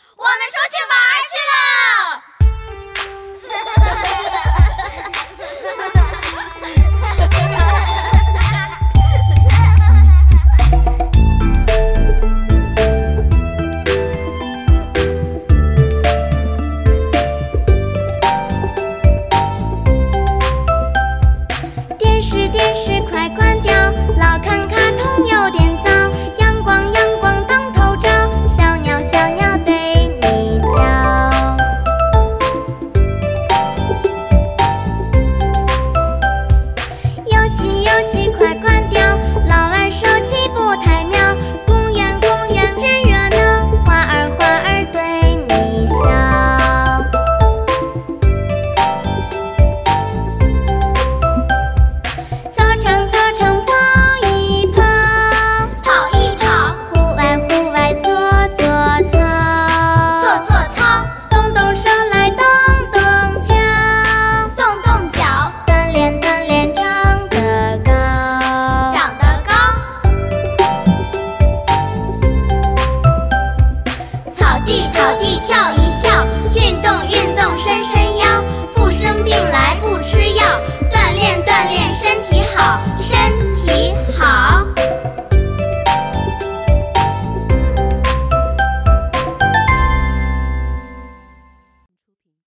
我们出去玩去了。 电视快关掉，老看卡通有点糟。阳光当头照，小鸟对你叫。游戏快关掉，老玩手机不太妙。公园真热闹，花儿对你笑。操场跑一跑，户外做操，动手来动脚，锻炼长得高。草地跳一